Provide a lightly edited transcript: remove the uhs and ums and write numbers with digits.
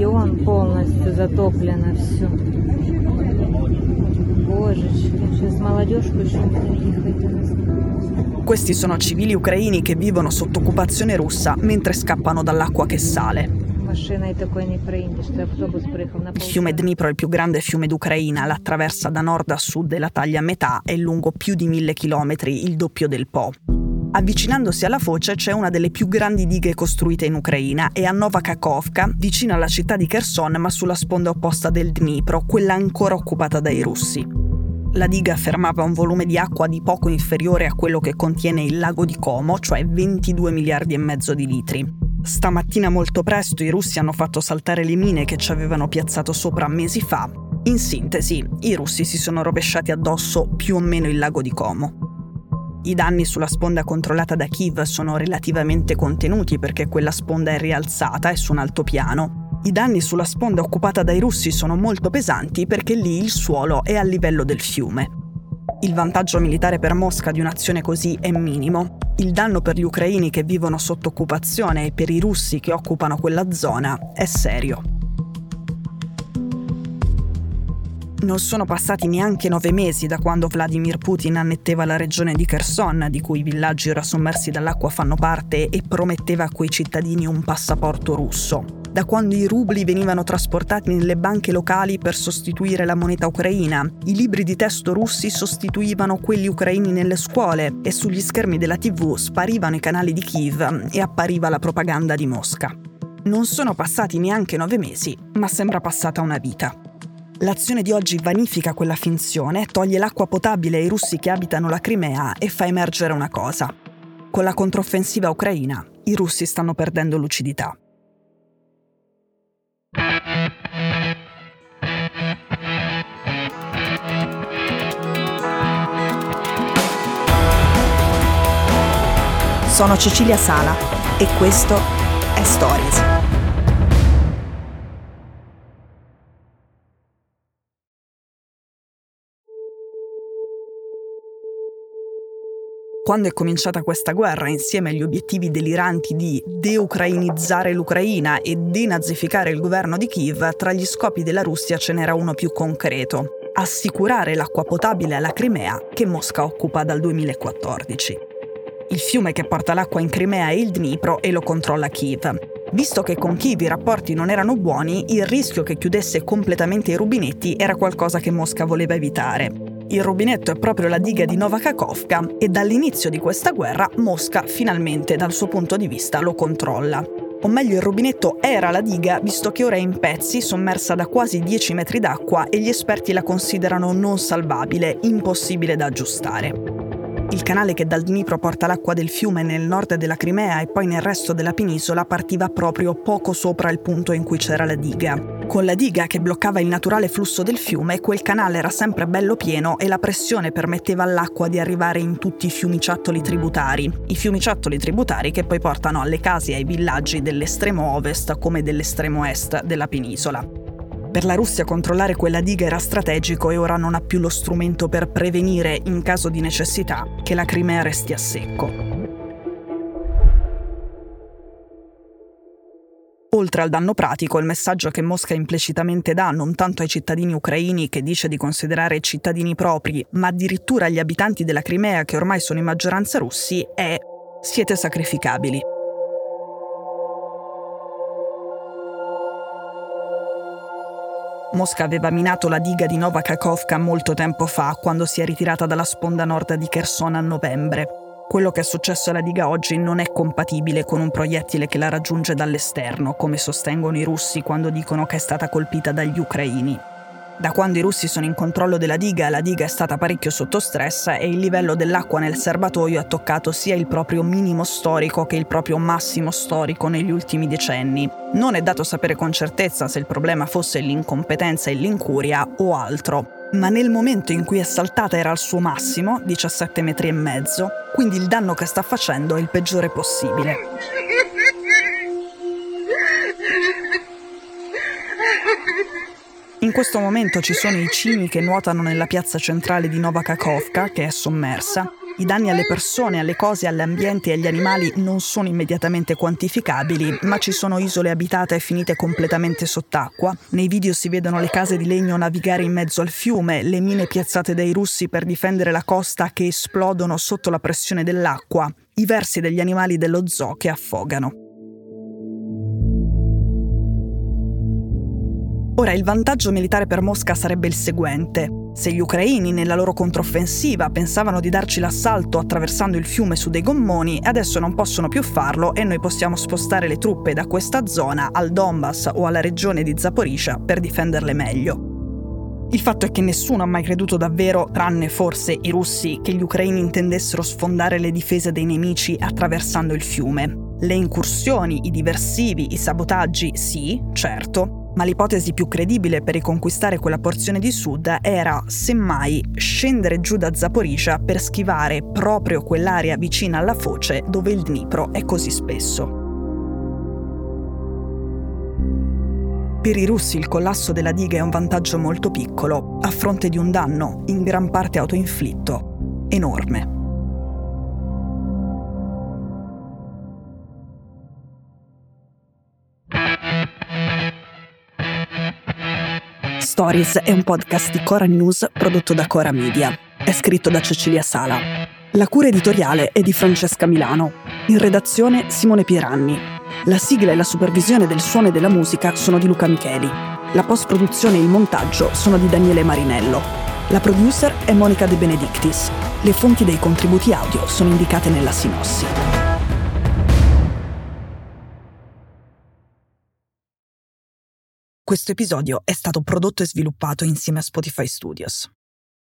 стадион полностью затоплено все. Божечки, сейчас молодежку еще приехать. Questi sono civili ucraini che vivono sotto occupazione russa mentre scappano dall'acqua che sale. Il fiume Dnipro è il più grande fiume d'Ucraina, l'attraversa da nord a sud e la taglia a metà, è lungo più di 1000 chilometri, il doppio del Po. Avvicinandosi alla foce c'è una delle più grandi dighe costruite in Ucraina e a Nova Kakhovka, vicino alla città di Kherson ma sulla sponda opposta del Dnipro, quella ancora occupata dai russi. La diga fermava un volume di acqua di poco inferiore a quello che contiene il lago di Como, cioè 22 miliardi e mezzo di litri. Stamattina molto presto i russi hanno fatto saltare le mine che ci avevano piazzato sopra mesi fa. In sintesi, i russi si sono rovesciati addosso più o meno il lago di Como. I danni sulla sponda controllata da Kiev sono relativamente contenuti perché quella sponda è rialzata e su un altopiano. I danni sulla sponda occupata dai russi sono molto pesanti perché lì il suolo è a livello del fiume. Il vantaggio militare per Mosca di un'azione così è minimo. Il danno per gli ucraini che vivono sotto occupazione e per i russi che occupano quella zona è serio. Non sono passati neanche 9 mesi da quando Vladimir Putin annetteva la regione di Kherson, di cui i villaggi ora sommersi dall'acqua fanno parte, e prometteva a quei cittadini un passaporto russo. Da quando i rubli venivano trasportati nelle banche locali per sostituire la moneta ucraina, i libri di testo russi sostituivano quelli ucraini nelle scuole e sugli schermi della TV sparivano i canali di Kiev e appariva la propaganda di Mosca. Non sono passati neanche 9 mesi, ma sembra passata una vita. L'azione di oggi vanifica quella finzione, toglie l'acqua potabile ai russi che abitano la Crimea e fa emergere una cosa. Con la controffensiva ucraina, i russi stanno perdendo lucidità. Sono Cecilia Sala e questo è Stories. Quando è cominciata questa guerra, insieme agli obiettivi deliranti di deucrainizzare l'Ucraina e denazificare il governo di Kiev, tra gli scopi della Russia ce n'era uno più concreto: assicurare l'acqua potabile alla Crimea, che Mosca occupa dal 2014. Il fiume che porta l'acqua in Crimea è il Dnipro e lo controlla Kiev. Visto che con Kiev i rapporti non erano buoni, il rischio che chiudesse completamente i rubinetti era qualcosa che Mosca voleva evitare. Il rubinetto è proprio la diga di Nova Kakhovka e dall'inizio di questa guerra Mosca finalmente dal suo punto di vista lo controlla. O meglio, il rubinetto era la diga, visto che ora è in pezzi, sommersa da quasi 10 metri d'acqua e gli esperti la considerano non salvabile, impossibile da aggiustare. Il canale che dal Dnipro porta l'acqua del fiume nel nord della Crimea e poi nel resto della penisola partiva proprio poco sopra il punto in cui c'era la diga. Con la diga che bloccava il naturale flusso del fiume, quel canale era sempre bello pieno e la pressione permetteva all'acqua di arrivare in tutti i fiumiciattoli tributari. I fiumiciattoli tributari che poi portano alle case e ai villaggi dell'estremo ovest come dell'estremo est della penisola. Per la Russia controllare quella diga era strategico e ora non ha più lo strumento per prevenire, in caso di necessità, che la Crimea resti a secco. Oltre al danno pratico, il messaggio che Mosca implicitamente dà non tanto ai cittadini ucraini, che dice di considerare cittadini propri, ma addirittura agli abitanti della Crimea, che ormai sono in maggioranza russi, è: siete sacrificabili. Mosca aveva minato la diga di Nova Kakhovka molto tempo fa, quando si è ritirata dalla sponda nord di Kherson a novembre. Quello che è successo alla diga oggi non è compatibile con un proiettile che la raggiunge dall'esterno, come sostengono i russi quando dicono che è stata colpita dagli ucraini. Da quando i russi sono in controllo della diga è stata parecchio sotto stress e il livello dell'acqua nel serbatoio ha toccato sia il proprio minimo storico che il proprio massimo storico negli ultimi decenni. Non è dato sapere con certezza se il problema fosse l'incompetenza e l'incuria o altro, ma nel momento in cui è saltata era al suo massimo, 17,5 metri, quindi il danno che sta facendo è il peggiore possibile. In questo momento ci sono i cini che nuotano nella piazza centrale di Nova Kakhovka, che è sommersa, I danni alle persone, alle cose, all'ambiente e agli animali non sono immediatamente quantificabili, ma ci sono isole abitate finite completamente sott'acqua. Nei video si vedono le case di legno navigare in mezzo al fiume, le mine piazzate dai russi per difendere la costa che esplodono sotto la pressione dell'acqua, i versi degli animali dello zoo che affogano. Ora, il vantaggio militare per Mosca sarebbe il seguente. Se gli ucraini nella loro controffensiva pensavano di darci l'assalto attraversando il fiume su dei gommoni, adesso non possono più farlo e noi possiamo spostare le truppe da questa zona al Donbass o alla regione di Zaporizhzhia per difenderle meglio. Il fatto è che nessuno ha mai creduto davvero, tranne forse i russi, che gli ucraini intendessero sfondare le difese dei nemici attraversando il fiume. Le incursioni, i diversivi, i sabotaggi, sì, certo, ma l'ipotesi più credibile per riconquistare quella porzione di sud era, semmai, scendere giù da Zaporizhzhia per schivare proprio quell'area vicina alla foce dove il Dnipro è così spesso. Per i russi il collasso della diga è un vantaggio molto piccolo, a fronte di un danno, in gran parte autoinflitto, enorme. Stories è un podcast di Cora News prodotto da Cora Media. È scritto da Cecilia Sala. La cura editoriale è di Francesca Milano. In redazione Simone Pieranni. La sigla e la supervisione del suono e della musica sono di Luca Micheli. La post-produzione e il montaggio sono di Daniele Marinello. La producer è Monica De Benedictis. Le fonti dei contributi audio sono indicate nella sinossi. Questo episodio è stato prodotto e sviluppato insieme a Spotify Studios.